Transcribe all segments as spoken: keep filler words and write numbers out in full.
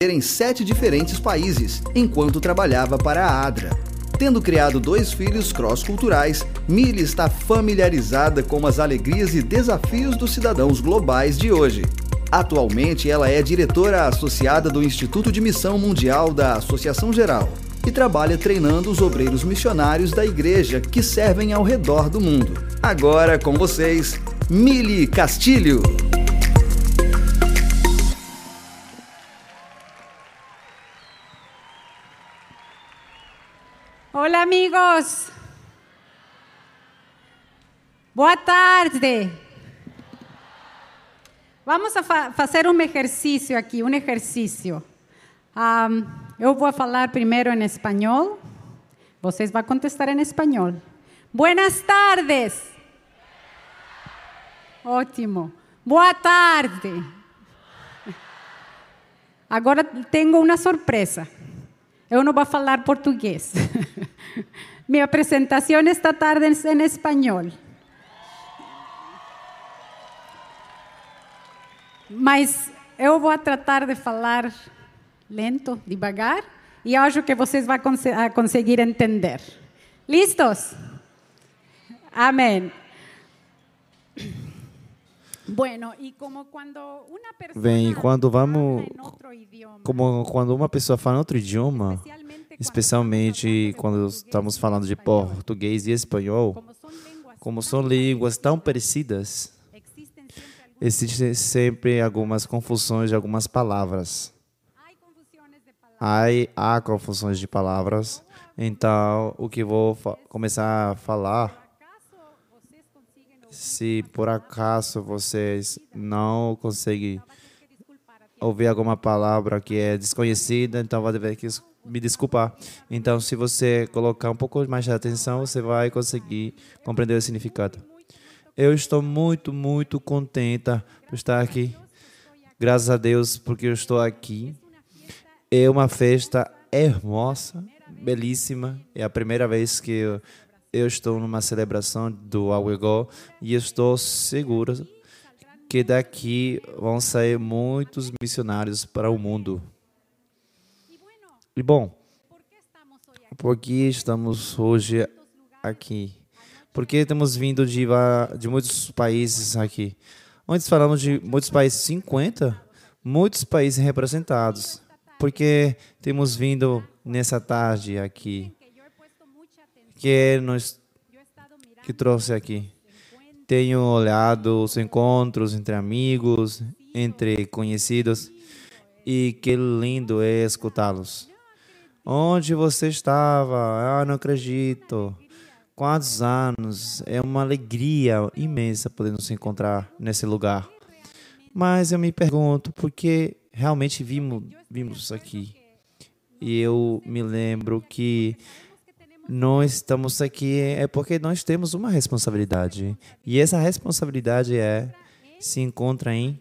em sete diferentes países, enquanto trabalhava para a Adra. Tendo criado dois filhos cross-culturais, Millie está familiarizada com as alegrias e desafios dos cidadãos globais de hoje. Atualmente, ela é diretora associada do Instituto de Missão Mundial da Associação Geral e trabalha treinando os obreiros missionários da igreja que servem ao redor do mundo. Agora com vocês, Millie Castilho. Olá, amigos. Boa tarde. Vamos a fa fazer um exercício aqui, um exercício. Um, eu vou falar primeiro em espanhol. Vocês vão contestar em espanhol. Buenas tardes. Ótimo. Boa tarde. Agora tenho uma surpresa. Eu não vou falar português. Minha apresentação esta tarde é em espanhol. Mas eu vou tratar de falar lento, devagar, e acho que vocês vão cons conseguir entender. Listos? Amém. Bueno, e como quando uma pessoa Bem, quando vamos, como quando uma pessoa fala em outro idioma, especialmente quando estamos falando de português e espanhol, como são línguas tão parecidas, existem sempre algumas confusões de algumas palavras. Há, há confusões de palavras, então o que vou começar a falar, se por acaso vocês não conseguem ouvir alguma palavra que é desconhecida, então vai ter que me desculpar. Então, se você colocar um pouco mais de atenção, você vai conseguir compreender o significado. Eu estou muito, muito contenta por estar aqui. Graças a Deus, porque eu estou aqui. É uma festa hermosa, belíssima. É a primeira vez que eu Eu estou numa celebração do Awego e estou seguro que daqui vão sair muitos missionários para o mundo. E bom, por que estamos hoje aqui? Porque temos vindo de, de muitos países aqui. Antes falamos de muitos países, cinquenta, muitos países representados. Porque temos vindo nessa tarde aqui. Que nos que trouxe aqui. Tenho olhado os encontros entre amigos, entre conhecidos, e que lindo é escutá-los. Onde você estava? Ah, não acredito. Quantos anos? É uma alegria imensa poder nos encontrar nesse lugar. Mas eu me pergunto, por que realmente vimos, vimos aqui? E eu me lembro que nós estamos aqui é porque nós temos uma responsabilidade. E essa responsabilidade é se encontra em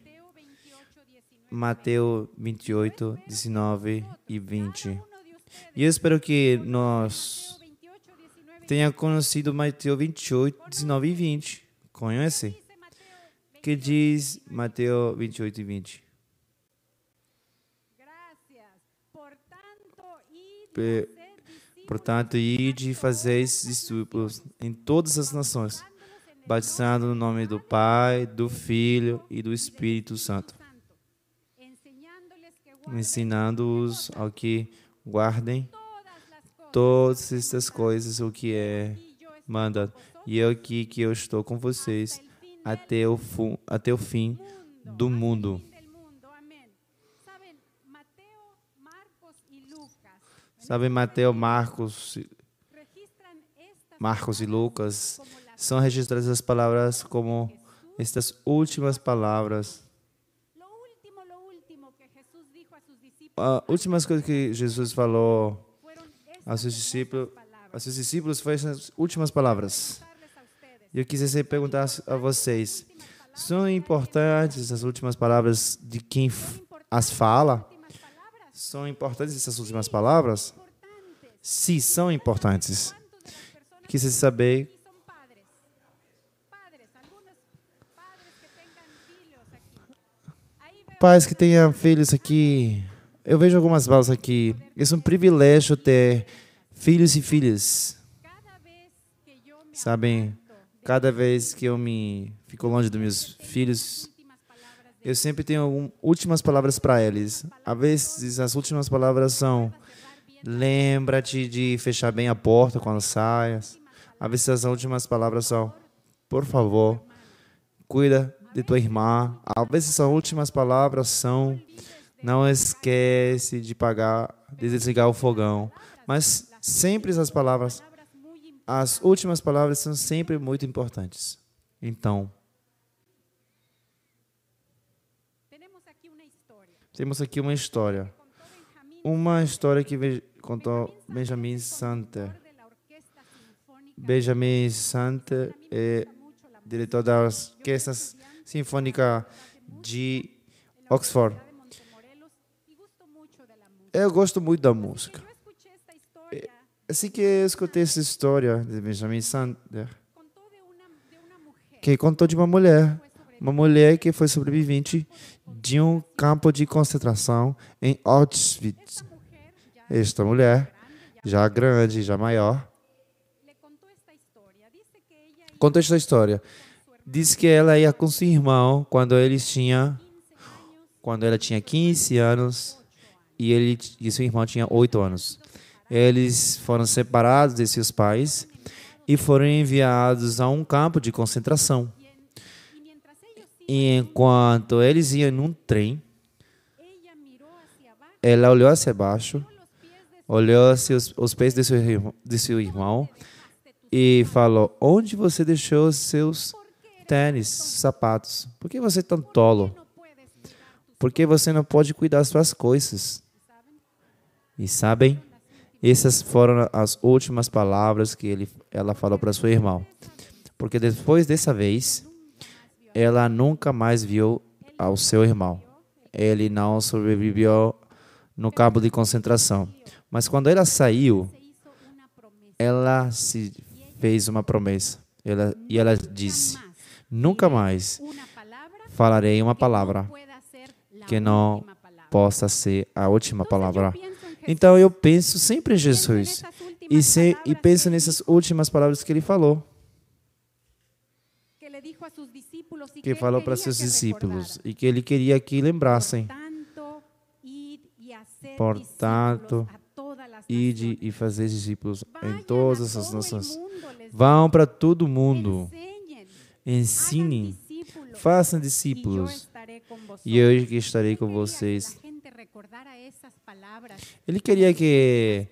Mateus vinte e oito, dezenove e vinte. E eu espero que nós tenha conhecido Mateus vinte e oito, dezenove e vinte. Conhece? Que diz Mateus vinte e oito e vinte? Pe Portanto, ide e fazeis discípulos em todas as nações, batizando no nome do Pai, do Filho e do Espírito Santo, ensinando-os ao que guardem todas estas coisas, o que é mandado. E eu aqui que eu estou com vocês até o, fu- até o fim do mundo. Sabe, Mateus, Marcos, Marcos e Lucas são registradas as palavras como estas últimas palavras. A última coisa que Jesus falou aos seus discípulos, aos seus discípulos foi essas últimas palavras. E eu quisesse perguntar a vocês, são importantes as últimas palavras de quem as fala? São importantes essas últimas palavras? Sim, são importantes. Quis saber. Pais que tenham filhos aqui, eu vejo algumas palavras aqui. É um privilégio ter filhos e filhas. Sabem, cada vez que eu me fico longe dos meus filhos, eu sempre tenho um, últimas palavras para eles. Às vezes, as últimas palavras são: lembra-te de fechar bem a porta quando saias. Às vezes, as últimas palavras são: por favor, cuida de tua irmã. Às vezes, as últimas palavras são: não esquece de pagar, de desligar o fogão. Mas sempre essas palavras, as últimas palavras são sempre muito importantes. Então, temos aqui uma história. Uma história que contou Benjamin Santer. Benjamin Santer é diretor da Orquestra Sinfônica de Oxford. Eu gosto muito da música. Assim que eu escutei essa história de Benjamin Santer, que contou de uma mulher, uma mulher que foi sobrevivente de um campo de concentração em Auschwitz. Esta mulher, já grande, já maior, contou esta história. Diz que ela ia com seu irmão quando eles tinham, quando ela tinha quinze anos e ele e seu irmão tinha oito anos. Eles foram separados de seus pais e foram enviados a um campo de concentração. E enquanto eles iam num trem, ela olhou hacia baixo, olhou hacia os, os pés de seu, irmão, de seu irmão e falou: onde você deixou os seus tênis, sapatos? Por que você é tão tolo? Por que você não pode cuidar das suas coisas? E sabem? Essas foram as últimas palavras que ele, ela falou para seu irmão. Porque depois dessa vez, ela nunca mais viu ao seu irmão. Ele não sobreviveu no campo de concentração. Mas quando ela saiu, ela se fez uma promessa. Ela, e ela disse: nunca mais falarei uma palavra que não possa ser a última palavra. Então eu penso sempre em Jesus e, se, e penso nessas últimas palavras que ele falou. Que falou para seus discípulos e que ele queria que lembrassem. Portanto, ide e fazer discípulos em todas as nações. Vão para todo mundo. Ensinem. Façam discípulos. E eu estarei com vocês. Ele queria que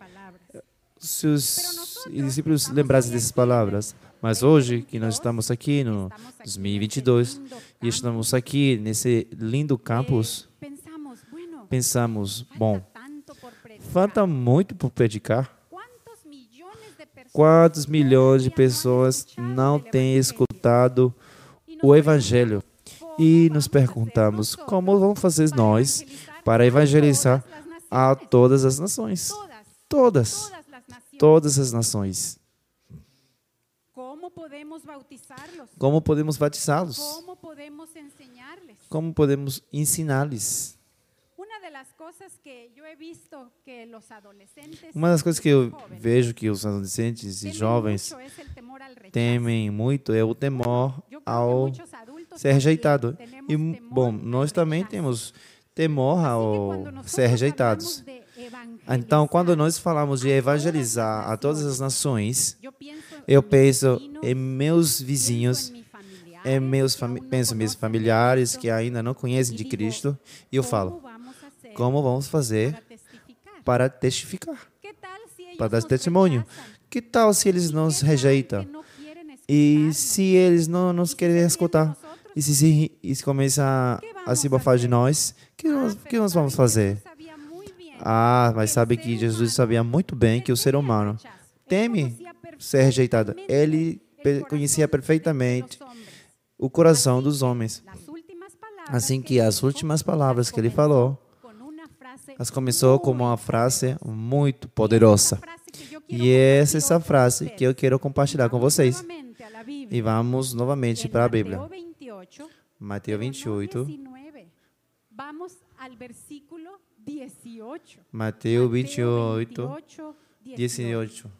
seus discípulos lembrassem dessas palavras. Mas hoje, que nós estamos aqui no dois mil e vinte e dois e estamos aqui nesse lindo campus, pensamos, bom, falta muito por predicar. Quantos milhões de pessoas não têm escutado o Evangelho? E nos perguntamos, como vamos fazer nós para evangelizar a todas as nações? Todas. Todas as nações. Como podemos batizá-los? Como podemos ensinar-lhes? Uma das coisas que eu vejo que os adolescentes e jovens temem muito é o temor ao ser rejeitado. E, bom, nós também temos temor ao ser rejeitados. Então, quando nós falamos de evangelizar a todas as nações, eu penso em meus vizinhos, em meus fami- penso em meus familiares que ainda não conhecem de Cristo, e eu falo, como vamos fazer para testificar, para dar testemunho? Que tal se eles nos rejeitam? E se eles não nos querem escutar? E se, se, e se começa a, a se bafar de nós, o que nós, que nós vamos fazer? Ah, mas sabe que Jesus sabia muito bem que o ser humano teme ser rejeitado. Ele conhecia perfeitamente o coração dos homens. Assim que as últimas palavras que ele falou, as começou com uma frase muito poderosa. E essa é essa frase que eu quero compartilhar com vocês. E vamos novamente para a Bíblia. Mateus vinte e oito. dieciocho. Mateus vinte e Mateo oito, veintiocho, dezoito.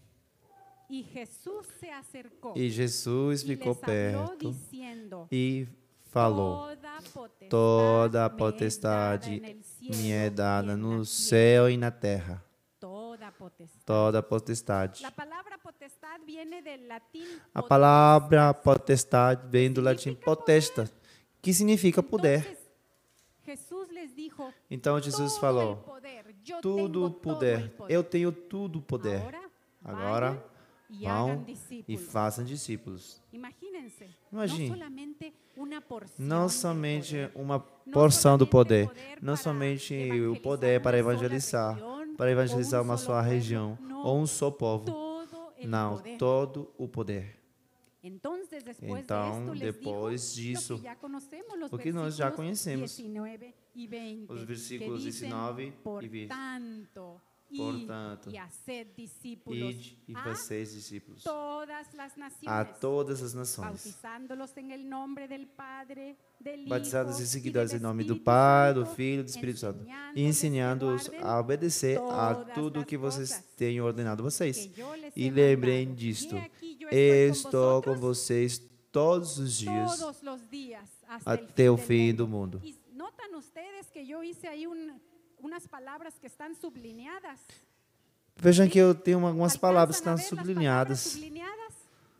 Y Jesús se acercó E Jesus y ficou les habló perto diciendo, e falou: toda potestad toda a me es dada potestade en el cielo me é y dada en la no tierra. céu e na terra. Toda potestad. Toda a potestade. La palabra potestad viene del latín A palavra potestas. potestade vem do latim potestas, que significa poder. Entonces, Jesús les dijo, Então Jesus todo falou: el poder, yo tudo tengo todo el poder, poder. eu tenho tudo poder. Agora, Agora vayan y hagan vão e discípulos. façam discípulos. Imagínense, Imagine. no solamente una porción Não del somente poder, uma no porção do solamente poder, poder não para somente o evangelizar poder para uma sola evangelizar, região, para evangelizar ou um uma solo só pueblo, região não, ou um só povo. todo el Não, poder. todo o poder. Entonces, después Então, de esto, les depois dijo disso, lo que ya conocemos, los o que nós já versículos conhecemos, diecinueve y veinte, os que versículos dicen, dezenove por e vinte. tanto, Portanto, id y haced discípulos Ide e a fazeis discípulos todas las naciones, a todas as nações, bautizándolos en el nombre del Padre, del batizados Hijo e y seguidores del em nome do Espíritu Pai, do Santo, Filho e do Espírito Santo, e enseñándoles ensinando-os que a guarden obedecer a todas tudo o las que vocês cosas têm ordenado a vocês. que yo les E he lembrem mandado. disto: He aquí, yo estou con com vocês todos os dias todos los días hasta até o el fin fim del do mundo. mundo. Y notan ustedes que yo hice ahí un- unas palabras que están sublineadas. Vejam que eu tenho algumas ¿Alcanzan palavras que a estão ver las palabras sublinhadas. sublineadas?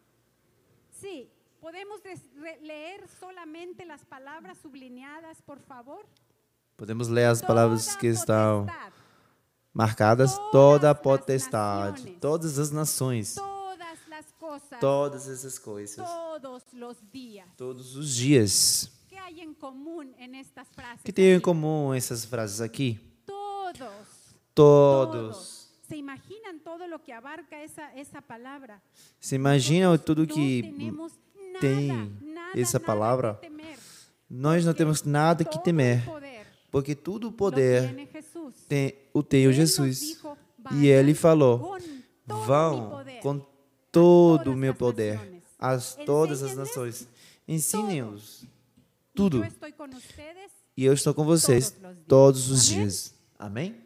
Sí. ¿Podemos des- re- leer solamente las palabras sublineadas, por favor? Podemos ler as palavras Toda que estão potestad, marcadas: todas toda a as potestade, nações, todas as nações, todas las cosas, todas essas coisas, todos los días. todos os dias. ¿Qué hay en común en estas frases? O que tem em aquí? comum essas frases aqui? Todos. Todos. ¿Se imaginan todo lo que abarca esa, esa palabra? Você imagina Nosotros tudo no que tenemos nada, tem nada, essa nada palavra? que temer, Nós não porque temos nada que todo temer, el poder porque tudo o lo poder tiene Jesús. tem, o tem o Él nos Jesus. dijo, E ele "Vayan falou: con todo mi vão poder com a todo o todas meu las poder naciones. a todas as Enséñenles nações. Ensinem-os Y tudo. yo estoy con ustedes E eu estou com vocês todos os dias. todos os Amém? dias. Amém?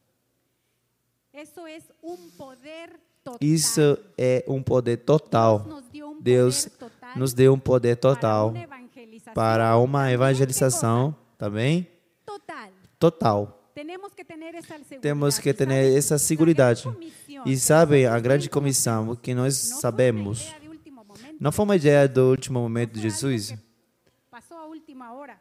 Eso es un poder total. Isso é um poder total. Deus nos dio un Deus poder total nos deu um poder para total una evangelización. para uma También, evangelização também ¿qué cosa? Total. total. Tenemos que ter essa segurança. Temos que ter essa segurança. E sabem, a grande comissão, o que nós sabemos, não foi uma ideia do último momento de Jesus, Passou a última hora.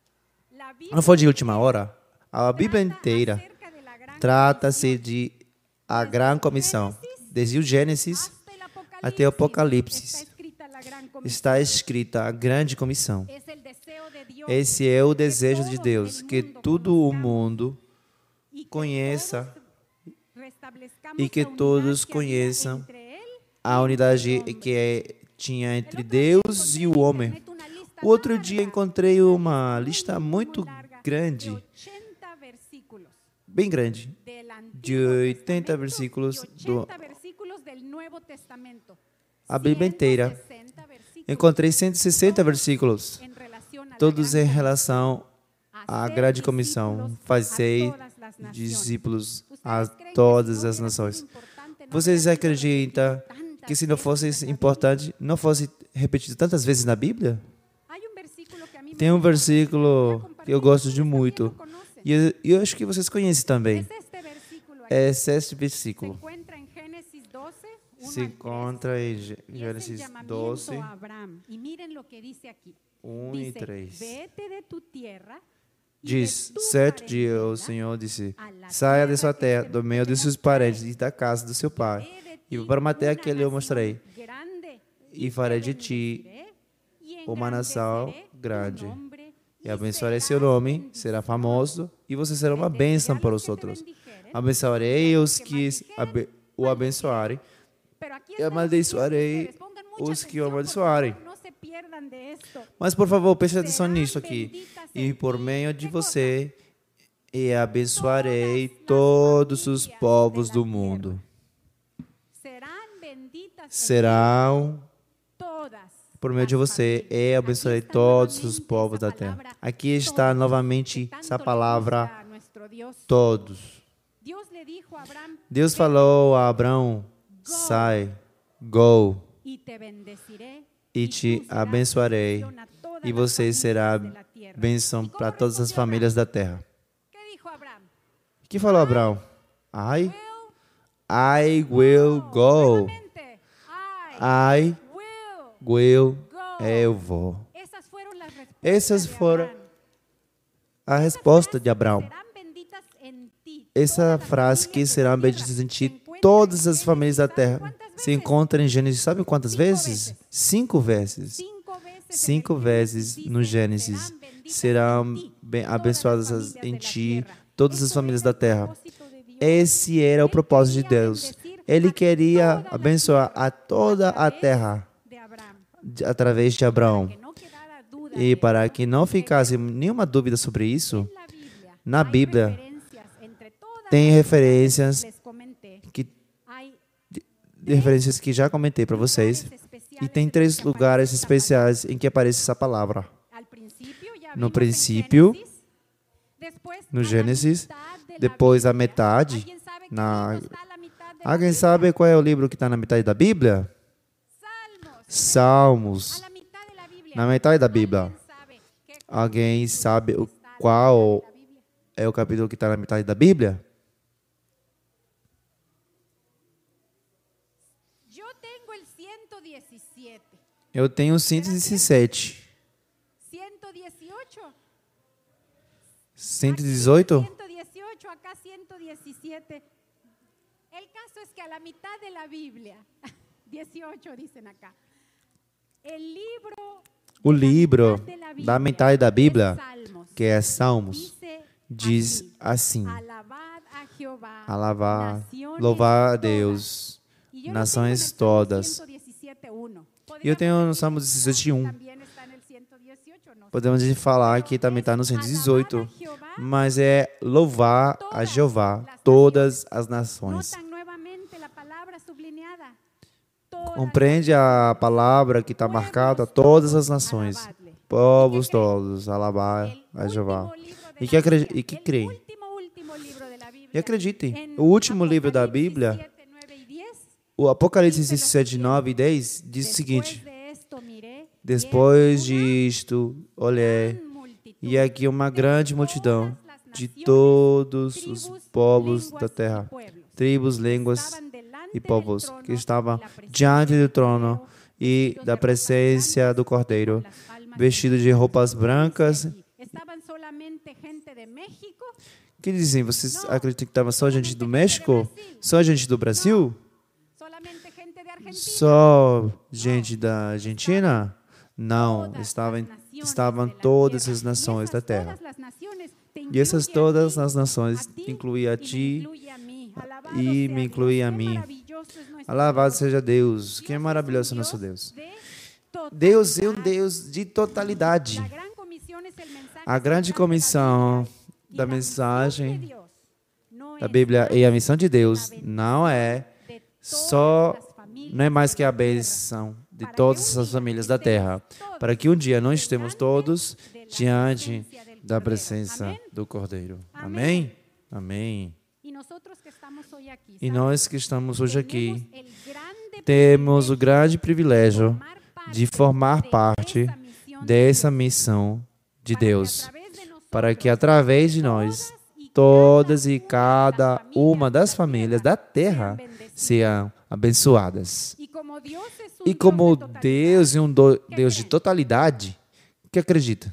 La Bíblia não foi de última hora. A Bíblia inteira acerca de la gran trata-se de a grande comissão. Desde o Gênesis hasta el até o Apocalipse está escrita la gran comisión. está escrita a grande comissão. Es el deseo de Dios Esse é o que desejo todo de Deus, el que mundo todo o conozcamos mundo y que conheça todos restabelezcamos e que la unidad todos que había conheçam entre él a unidade que é, tinha entre Deus e o homem. O outro dia encontrei uma lista muito grande, ochenta versículos bem grande, del de Antiguo oitenta Testamento versículos y do ochenta versículos del Nuevo Testamento. a Bíblia inteira. ciento sesenta versículos Encontrei cento e sessenta versículos, en relación a la todos gran em comisión. relação à Hacer grande comissão, discípulos fazer a todas las naciones. discípulos ¿Ustedes a creen que todas si no as hubiera nações. sido importante, no Vocês hubiera sido acreditam repetido que se não tantas fosse veces en la importante, não fosse repetido tantas vezes na Bíblia? Biblia? Hay un versículo que a mí me Tem um gusta. versículo que eu gosto de Ustedes también muito, lo conocen. e eu, eu acho que vocês conhecem também. Es este versículo aquí. É esse Se versículo. encuentra en Génesis doce, uno Se al tres, encontra em Gê- y es el Gênesis llamamiento doze, a Abraham. Y miren lo que dice aquí. um e Dice, três. vete de tu tierra y Diz: de tu certo dia o parentela Senhor disse: a la saia de tierra sua que terra, te do meio de seus parentes e da casa do seu pai, haré de e ti para uma terra una que lhe eu nación mostrarei, grande, e te farei de ti bendeciré, y uma nação engrandeceré tu grande, nombre, e abençoarei serás seu nome, bendición. será famoso, e você será uma Bendeciré bênção a para los os que te outros. bendijeren, Abençoarei os que que maldijeren, abe- o abençoarem, pero aquí e está amaldiçoarei diciendo ustedes, pongan mucha os que o atención, por amaldiçoarem. favor, no se pierdan de esto. Mas, por favor, preste atenção Serán nisso aqui. benditas E en por ti. meio de ¿Qué cosa? você, e abençoarei Todas las todos os familias povos de do la mundo. Serán benditas en ti Serão, todas por meio de las você, familias. e abençoarei Aquí está todos os nuevamente povos esa da terra. palabra Aqui está todos, novamente que tanto essa le palavra gusta a nuestro Todos. Deus falou a Abraão, sai, go, e te abençoarei, e você será bênção para todas as famílias da terra. O que falou Abraão? I, I will go. I will, eu vou. Essas foram a resposta de Abraão. Essa frase que serão benditas em ti todas as famílias da terra se encontra em Gênesis, sabe quantas vezes? Cinco vezes. Cinco vezes no Gênesis serão abençoadas em ti todas as famílias da terra. Esse era o propósito de Deus. Ele queria abençoar a toda a terra através de Abraão. E para que não ficasse nenhuma dúvida sobre isso, na Bíblia tem referências que, referências que já comentei para vocês. E tem três lugares especiais em que aparece essa palavra. No princípio, no Gênesis, depois a metade. Na... Alguém sabe qual é o livro que está na metade da Bíblia? Salmos. Na metade da Bíblia. Alguém sabe o qual é o capítulo que está na metade da Bíblia? Eu tenho cento e dezessete. cento e dezoito? El caso es que a la mitad de la Biblia, dieciocho dicen acá, el libro, o livro da metade da Bíblia, que é Salmos, diz assim: alabar, louvar a Deus, nações todas. E eu tenho no Salmo dezessete, um. Podemos falar que também está no cento e dezoito, mas é louvar a Jeová, todas as nações. Compreende a palavra que está marcada, todas as nações, povos todos, alabar a Jeová. E que, e que creem. E acreditem, o último livro da Bíblia, o Apocalipse dezessete, nove e dez, diz o seguinte: depois disto, olhei, e aqui uma grande multidão de todos os povos da terra, tribos, línguas e povos, que estavam diante do trono e da presença do Cordeiro, vestidos de roupas brancas. Que dizem? Vocês acreditam que estava só gente do México? Só gente do Brasil? Só gente da Argentina? Não, estavam, estavam todas as nações da terra. E essas todas as nações incluem a ti e me incluem a mim. Alabado seja Deus, que é maravilhoso o nosso Deus. Deus é um Deus de totalidade. A grande comissão da mensagem da Bíblia e a missão de Deus não é só, não é mais que a bênção de todas as famílias da terra, para que um dia nós estemos todos diante da presença do Cordeiro. Amém? Amém. E nós que estamos hoje aqui, temos o grande privilégio de formar parte dessa missão de Deus, para que através de nós, todas e cada uma das famílias da terra sejam abençoadas. E como Deus é um Deus de totalidade, que acredita?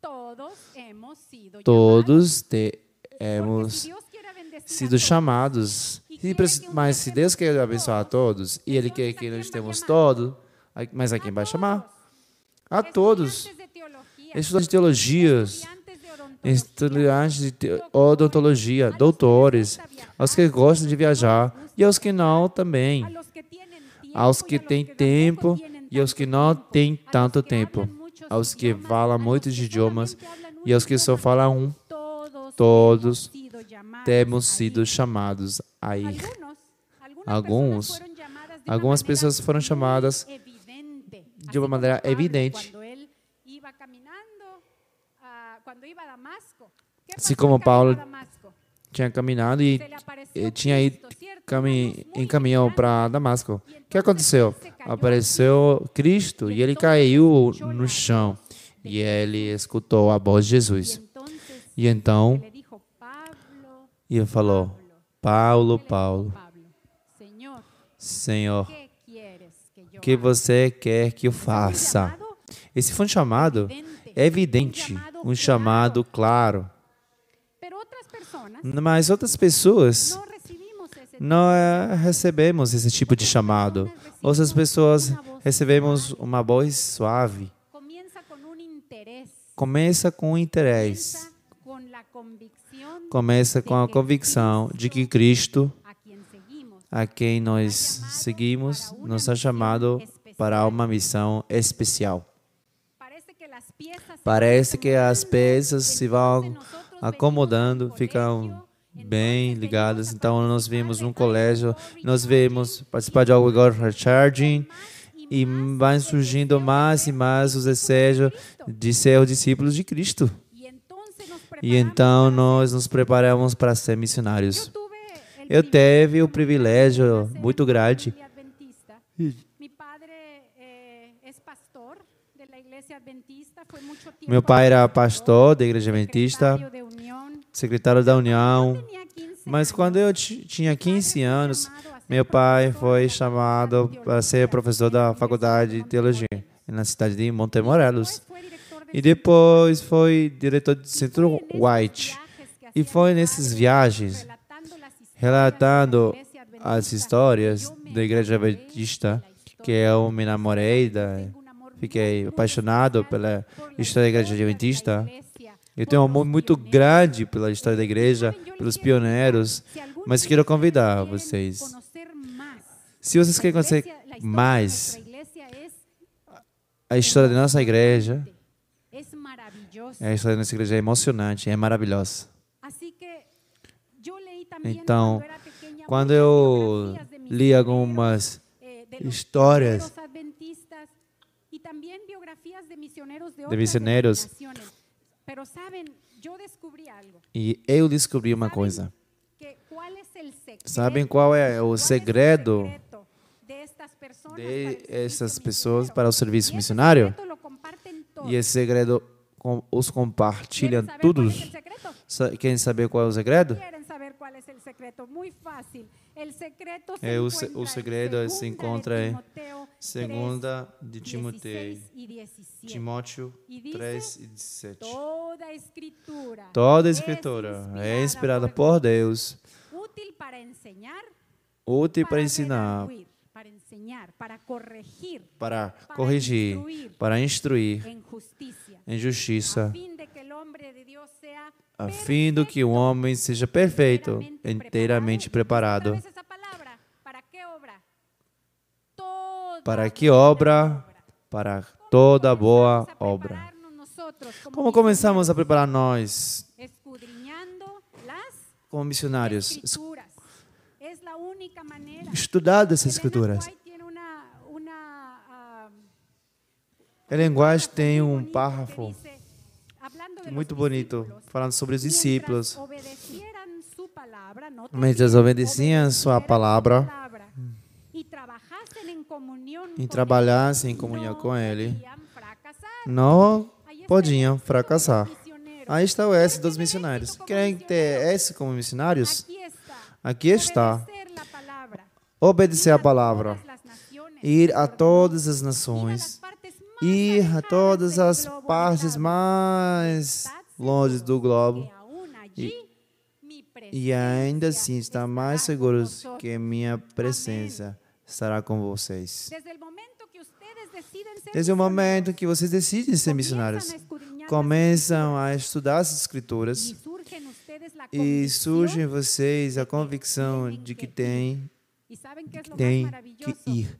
Todos temos sido chamados. Mas se Deus quer abençoar a todos, e Ele quer que nós temos todos, mas a quem vai chamar? A todos. Estudantes de teologias, estudantes de odontologia, doutores, aos que gostam de viajar, e aos que não também. Aos que têm tempo e aos que não têm tanto tempo. Aos que falam muitos idiomas e aos que só falam um. Todos temos sido chamados a ir. Alguns, algumas pessoas foram chamadas de uma maneira evidente. Assim como Paulo tinha caminhado e, e tinha ido cami em caminhão para Damasco. O que aconteceu? Apareceu Cristo e ele caiu no chão. E ele escutou a voz de Jesus. E então, ele falou, Paulo, Paulo, Senhor, o que você quer que eu faça? Esse foi um chamado evidente, um chamado claro. Mas outras pessoas não é, recebemos esse tipo de chamado. Outras pessoas recebemos uma voz suave. Começa com interesse. Começa com a convicção de que Cristo, a quem nós seguimos, nos ha chamado para uma missão especial. Parece que as peças se vão acomodando, ficam bem ligadas. Então, nós vimos um colégio, nós vimos participar de algo igual Recharging, e vai surgindo mais e mais os desejos de ser os discípulos de Cristo. E então, nós nos preparamos para ser missionários. Eu tive o privilégio muito grande. Meu pai era pastor da Igreja Adventista, secretário da União, mas quando eu tinha quinze anos, meu pai foi chamado para ser professor da Faculdade de Teologia na cidade de Montemorelos. E depois foi diretor do Centro White. E foi nessas viagens, relatando as histórias da Igreja Adventista, que eu me namorei, da, fiquei apaixonado pela história da Igreja Adventista. Eu tenho um amor muito grande pela história da igreja, pelos pioneiros, mas quero convidar vocês. Se vocês querem conhecer mais a história da nossa igreja, a história da nossa igreja é emocionante, é maravilhosa. Então, quando eu li algumas histórias de missionários, e eu descobri uma coisa. Sabem qual é o segredo de essas pessoas para o serviço missionário? E esse segredo os compartilham todos. Querem saber qual é o segredo? É, o, o segredo se encontra em segunda de Timoteo, Timóteo três e dezessete. Toda a Escritura é inspirada por Deus, útil para ensinar, para corrigir, para instruir em justiça, a fim de que o homem seja perfeito, inteiramente preparado. Para que obra? Para toda boa obra. Como começamos a preparar nós, como missionários? Estudar essas escrituras. A linguagem tem um parágrafo muito bonito, falando sobre os discípulos. Mas eles obedeciam sua palavra e trabalhassem em comunhão com Ele, não podiam fracassar. Aí está o S dos missionários. Querem ter S como missionários? Aqui está. Obedecer a palavra. Ir a todas as nações. Ir a todas as partes mais longe do globo. E, e ainda assim estar mais seguros que minha presença estará com vocês. Desde o momento que vocês decidem ser missionários, começam a estudar as Escrituras e surge em vocês a convicção de que tem, que, tem que ir.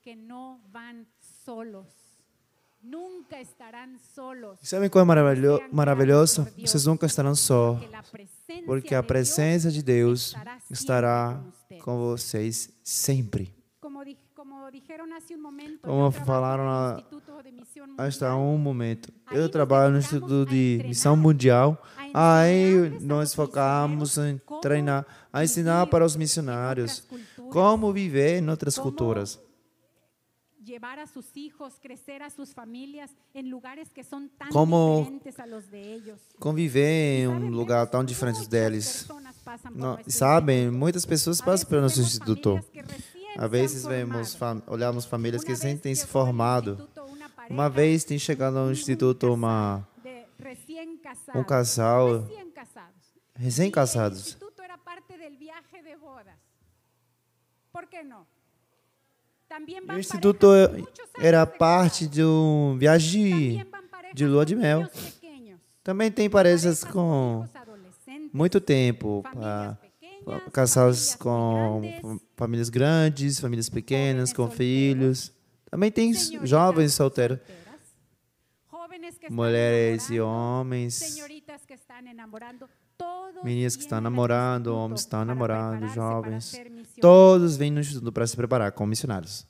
E sabem qual é maravilhoso? maravilhoso? Vocês nunca estarão só, porque a presença de Deus estará com vocês sempre. Como falaram há hasta um momento, eu trabalho no Instituto de Missão Mundial. Aí nós focamos em treinar, a ensinar para os missionários como viver em outras culturas. Llevar a sus hijos, crecer a sus familias en lugares que son tan Como diferentes a los de ellos. Conviver em um lugar tão diferente deles. Não, sabem, muitas pessoas passam pelo nosso instituto. Às vezes vemos, fam olhamos famílias que recém têm se formado. Uma vez tem chegado ao instituto uma, um casal recém-casados. O instituto era parte del viaje de bodas. Por que não? E o instituto era parte de uma viagem de, de lua de mel. Também tem parejas com muito tempo, para casais com famílias grandes, famílias pequenas, com filhos. Também tem jovens solteiros, mulheres e homens, meninas que estão namorando, homens que estão namorando, jovens. Todos vêm no instituto para se preparar como missionários.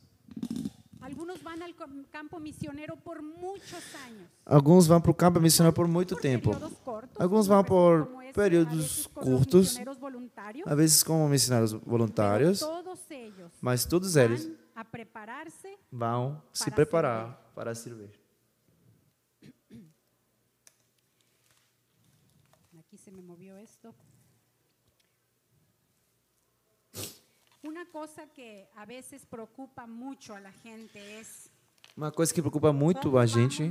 Alguns vão para o campo missionário por muito tempo. Alguns vão por períodos curtos, às vezes como missionários voluntários, mas todos eles vão se preparar para servir. Aqui se me moveu isto. Uma coisa que a vezes preocupa muito a la gente es Uma coisa que preocupa muito a gente,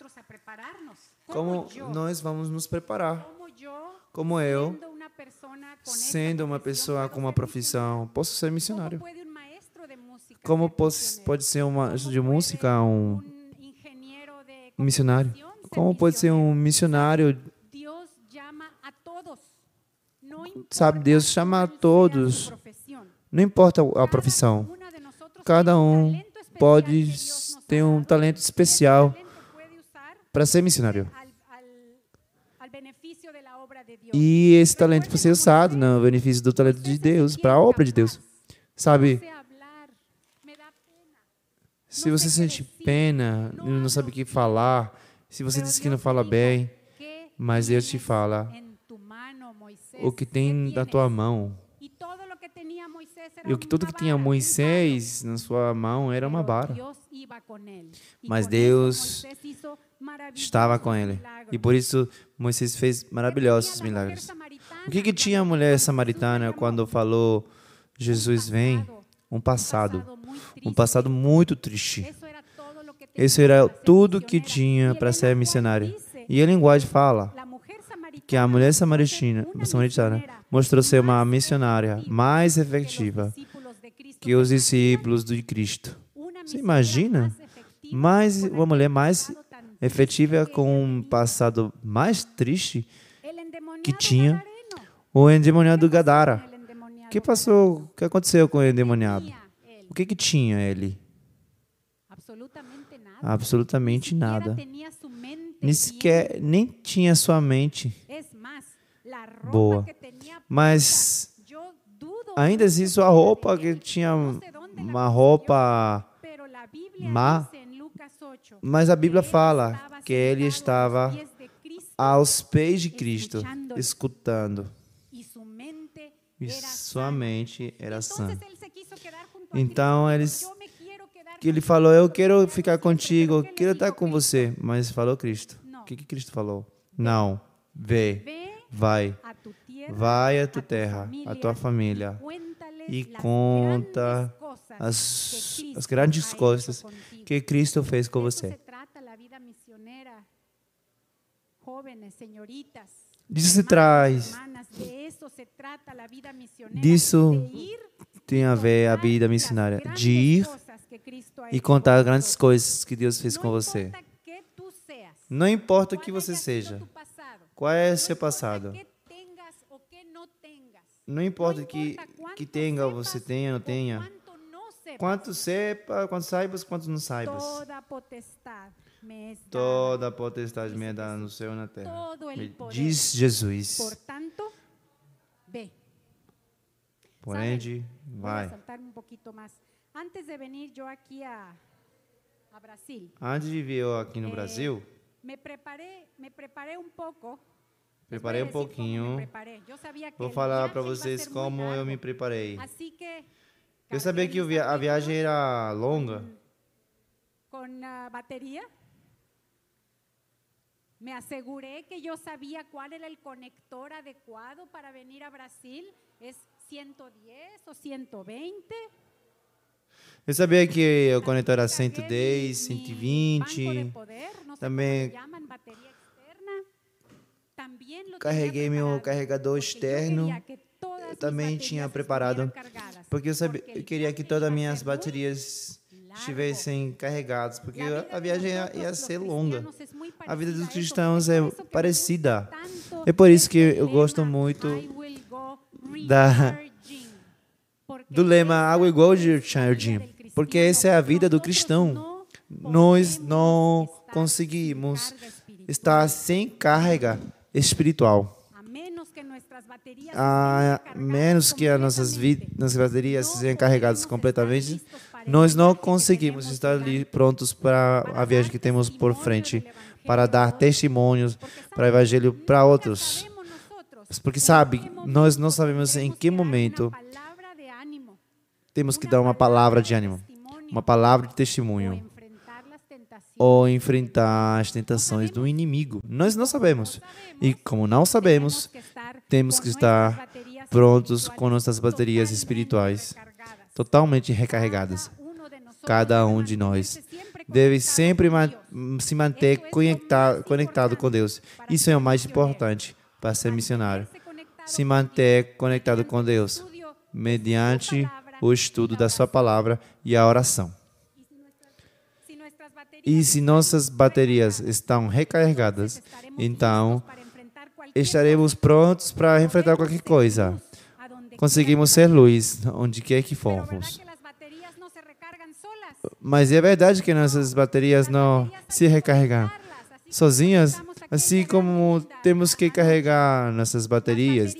como nós vamos nos preparar. Como eu, sendo uma pessoa com uma profissão, posso ser missionário. Como pode ser um maestro de música, um, um missionário? Como pode ser um missionário? Sabe, Deus chama a todos. Não importa a profissão. Cada um pode ter um talento especial para ser missionário. E esse talento pode ser usado no benefício do talento de Deus, para a obra de Deus. Sabe, se você sente pena, não sabe o que falar, se você diz que não fala bem, mas Deus te fala o que tem na tua mão. E o que tudo que tinha Moisés na sua mão era uma vara. Mas Deus estava com ele. E por isso Moisés fez maravilhosos milagres. O que, que tinha a mulher samaritana quando falou, Jesus vem? Um passado. Um passado muito triste. Isso era tudo que tinha para ser missionária. E a linguagem fala que a mulher samaritana, samaritana mostrou ser uma missionária mais efetiva que os discípulos de Cristo. Você imagina? Mais uma mulher mais efetiva com um passado mais triste que tinha o endemoniado Gadara. O que passou? O que aconteceu com o endemoniado? O que que tinha ele? Absolutamente nada. Nem sequer, nem tinha sua mente boa. Mas ainda assim, sua roupa, que tinha uma roupa má, mas a Bíblia fala que ele estava aos pés de Cristo, escutando. E sua mente era sã. Então, eles, que ele falou, eu quero ficar contigo, eu quero estar com você. Mas falou Cristo. O que, que Cristo falou? Não. Vê, vai. Vai à tua terra, à tua família, e conta as, as grandes coisas que Cristo fez com você. Disso se traz. Disso tem a ver a vida missionária, de ir e contar as grandes coisas que Deus fez com você. Não importa o que você seja, qual é o seu passado. Não importa que, que tenha, você tenha ou não tenha. Quanto sepa, quanto saibas, quanto não saibas. Toda a potestade me é dada no céu e na terra. Diz Jesus. Por ende, vai. antes de venir yo aquí a, a Brasil, Antes de vir eu aqui no Eh, Brasil, me preparé, me preparé um pouco. preparei um Les voy a decir cómo me pouquinho. preparé. Yo sabía que Vou el falar viaje para iba a vocês ser muy como eu largo. me preparei. Así que Eu sabia que o via- a viagem era longa. con ah, batería. Me aseguré que yo sabía cuál era el conector adecuado para venir a Brasil. ¿Es ciento diez o ciento veinte? Eu sabia que o conector era También cento e cargué dez, mi- cento e mi banco de vinte. poder, no sé Também cómo le llaman, batería externa. También lo Carreguei tenía meu preparado, carregador porque yo externo. quería que todas Eu mis também baterías tinha estuvieran preparado, cargadas, porque eu, sabia, porque eu el queria que viaje todas as iba a minhas ser muy baterias largo. estivessem carregadas, porque La vida a de viagem ia, nosotros, ia los ser longa. cristianos, es muy A vida parecida dos a eso. cristãos Es é por eso que me parecida. gusta tanto É por isso que este eu gosto lema, muito I will go da- recharging, porque do lema essa Água igual es de la vida Charging, del cristiano. porque essa é a vida do Nosotros cristão. não Nós podemos não estar conseguimos sin carga espiritual. estar sem carga espiritual. A menos que nuestras baterias A estén recargadas menos que as nossas, vi- completamente, nossas baterias não sejam carregadas podemos completamente, estar listos para nós el não viaje que conseguimos queremos estar llegar, ali prontos para para a viagem dar que temos por testimonio frente, del evangelio para dar a otros. testemunhos Porque, para o sabe, evangelho para nunca outros. sabemos nosotros Porque en sabe, qué nós não momento sabemos em tenemos que dar una momento palavra de ánimo, temos que una dar uma palavra de de ânimo, testimonio, uma palavra de o testemunho, enfrentar las tentaciones. ou enfrentar as tentações do inimigo. Nós não sabemos. E como não sabemos, temos que estar prontos com nossas baterias espirituais totalmente recarregadas. Cada um de nós deve sempre ma- se manter conectado, conectado com Deus. Isso é o mais importante para ser missionário. Se manter conectado com Deus mediante o estudo da sua palavra e a oração. E se nossas baterias estão recarregadas, então estaremos prontos para enfrentar qualquer coisa. Conseguimos ser luz onde quer que formos. Mas é verdade que nossas baterias não se recarregam sozinhas, assim como temos que carregar nossas baterias.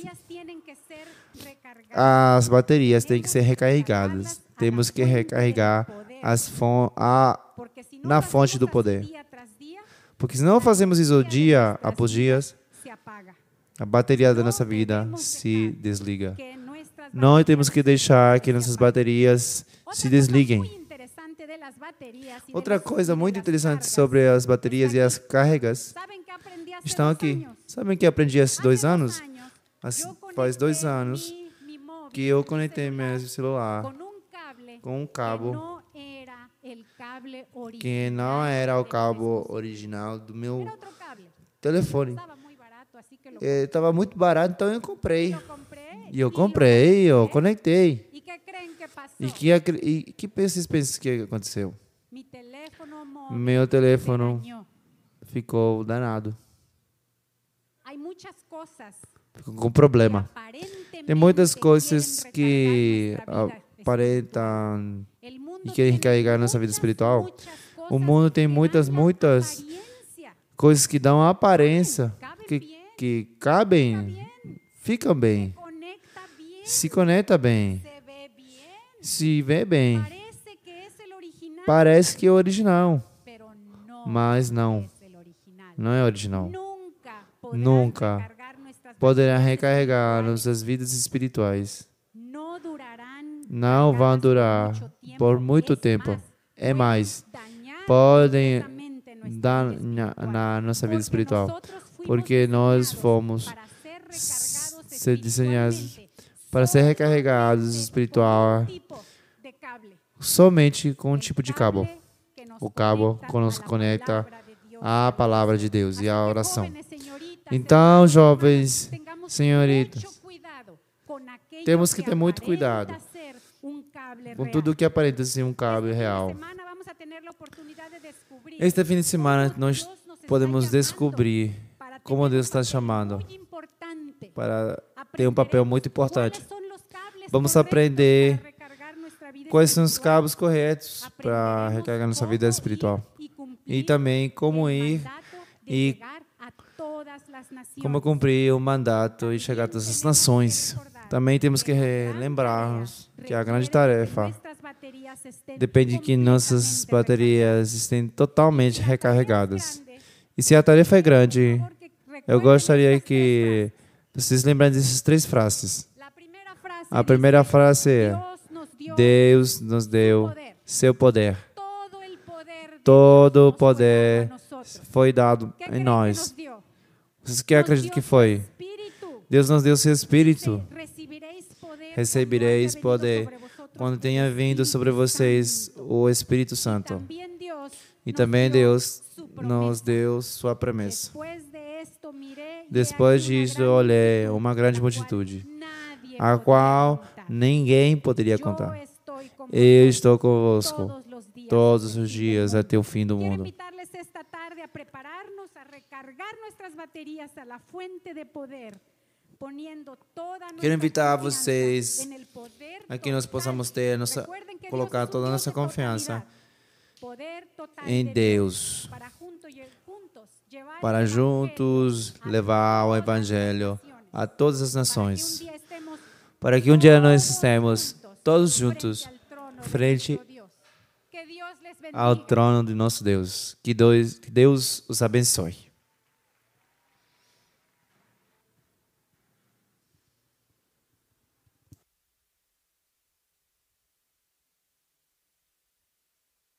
As baterias têm que ser recarregadas. Temos que recarregar as fon a, na fonte do poder. Porque se não fazemos isso dia após dia, a bateria da nossa vida se desliga. Nós temos que deixar que nossas baterias se desliguem. Outra coisa muito interessante sobre as baterias e as cargas estão aqui. Sabem que aprendi há dois anos? Faz dois anos que eu conectei meu celular com um cabo que não era o cabo original do meu telefone. Estava muito barato, então eu comprei. E eu comprei, eu conectei. E que, e que vocês pensam que aconteceu? Meu telefone ficou danado. Ficou com problema. Tem muitas coisas que aparentam e querem recarregar nossa vida espiritual. O mundo tem muitas, muitas coisas que dão aparência, que, que cabem, ficam bem, se conecta bem, se vê bem. Parece que é original, mas não. Não é original. Nunca poderá recarregar nossas vidas espirituais. Não vão durar por muito tempo. É mais, podem dar na, na nossa vida espiritual, porque nós fomos ser desenhados para ser recarregados espiritual somente com um tipo de cabo. O cabo que nos conecta à palavra de Deus e à oração. Então, jovens, senhoritas, temos que ter muito cuidado com tudo que aparenta ser um cabo real. Este fim de semana, nós podemos descobrir como Deus está chamando para ter um papel muito importante. Vamos aprender quais são os cabos corretos para recarregar nossa vida espiritual. E também como ir e como cumprir o mandato e chegar a todas as nações. Também temos que lembrar-nos que a grande tarefa depende que nossas baterias estejam totalmente recarregadas. E se a tarefa é grande, eu gostaria que vocês lembrem dessas três frases. A primeira frase é: Deus nos deu seu poder. Todo o poder foi dado em nós. Vocês que acreditam que foi? Deus nos deu seu Espírito. Recebereis poder quando tenha vindo sobre vocês o Espírito Santo. E também Deus nos deu sua promessa. Depois disso, olhei uma grande multitude, a qual ninguém poderia contar. Eu estou convosco todos os dias até o fim do mundo. Quero invitar vocês a que nós possamos ter nossa, colocar toda a nossa confiança em Deus, para juntos levar o Evangelho a todas as nações, para que um dia nós estemos todos juntos frente ao trono de nosso Deus. Que Deus, que Deus os abençoe.